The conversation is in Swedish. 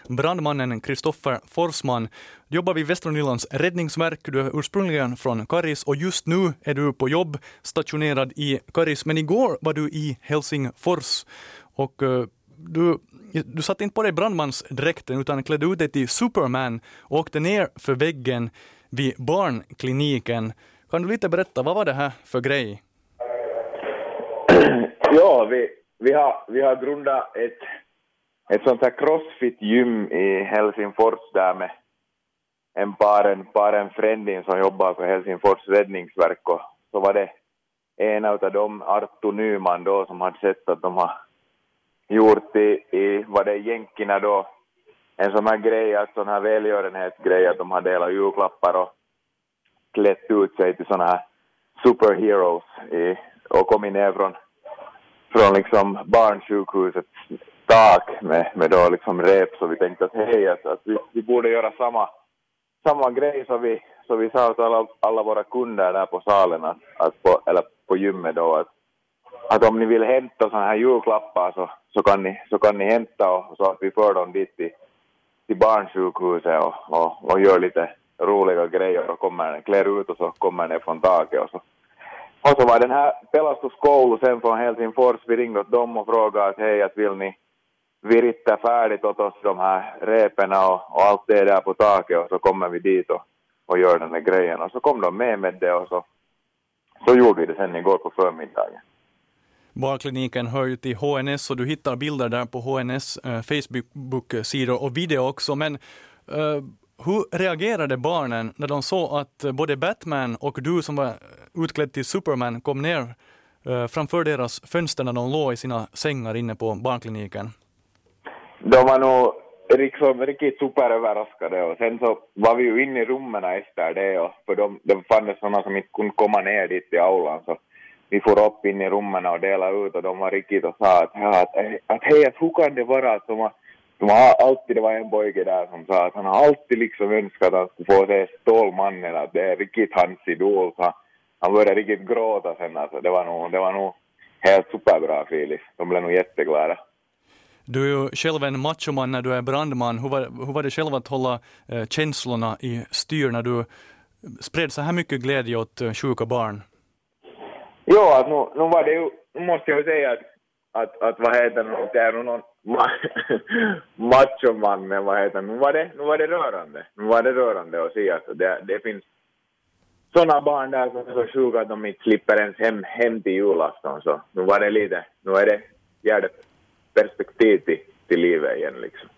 brandmannen Kristoffer Forsman. Du jobbar vid Västra Nylands räddningsverk. Du är ursprungligen från Karis och just nu är du på jobb stationerad i Karis. Men igår var du i Helsingfors och du satt inte på dig brandmansdräkten utan klädde ut dig till Superman och åkte ner för väggen vid barnkliniken. Kan du lite berätta, vad var det här för grej? Ja, vi har grundat ett sånt här crossfit-gym i Helsingfors där med en fränding som jobbar på Helsingfors räddningsverk, och så var det en av dem, Arttu Nyman då, som hade sett att de har gjort i vad det är jänkerna då, en sån här grej, att sån här välgörenhetsgrej, att de har delat julklappar och klätt ut sig till såna här superheroes och kommit ner från liksom barnsjukhusets tak med då liksom rep, så vi tänkte att hej, att vi borde göra samma grej, så vi sa till alla våra kunder där på salen eller på gymmet då, att om ni vill hämta såna här julklappar så kan ni hämta, och så att vi för dem dit till barnsjukhuset och gör lite roliga grejer och klär ut och så kommer ni från taket och så var den här pelastuskoulu sen från Helsingfors, vi ringde åt dem och frågade att hej, att vill ni virita färdigt åt oss de här reperna och allt det där på taket, och så kommer vi dit och gör den här grejen, och så kom de med det, och så gjorde vi det sen igår på förmiddagen. Barnkliniken hör ju till HNS och du hittar bilder där på HNS Facebook-sidor och video också, men hur reagerade barnen när de såg att både Batman och du som var utklädd till Superman kom ner framför deras fönster när de låg i sina sängar inne på barnkliniken? De var nog riktigt superöverraskade, och sen så var vi ju inne i rummen efter det, och för de fanns sådana som inte kunde komma ner dit i aulan, så vi får upp in i rummen och dela ut, och de var riktigt och sa att hej, att hur kan det vara att de har alltid, det var en pojke där som sa att han har alltid liksom önskat att han skulle få se Stålmannen, att det är riktigt hans idol, så han började riktigt gråta sen, alltså det var nog helt superbra, Filip. De blev nog jätteglada. Du är ju själv en machoman när du är brandman. Hur var det själv att hålla känslorna i styr när du spred så här mycket glädje åt sjuka barn? Ja, nu var det ju, måste jag säga att vad heter det är någon machoman, men vad heter det, nu var det rörande. Nu var det rörande att se att det finns sådana barn där som är så sjuka att de inte slipper ens hem till julafton, så nu är det perspektiv till livet igen liksom.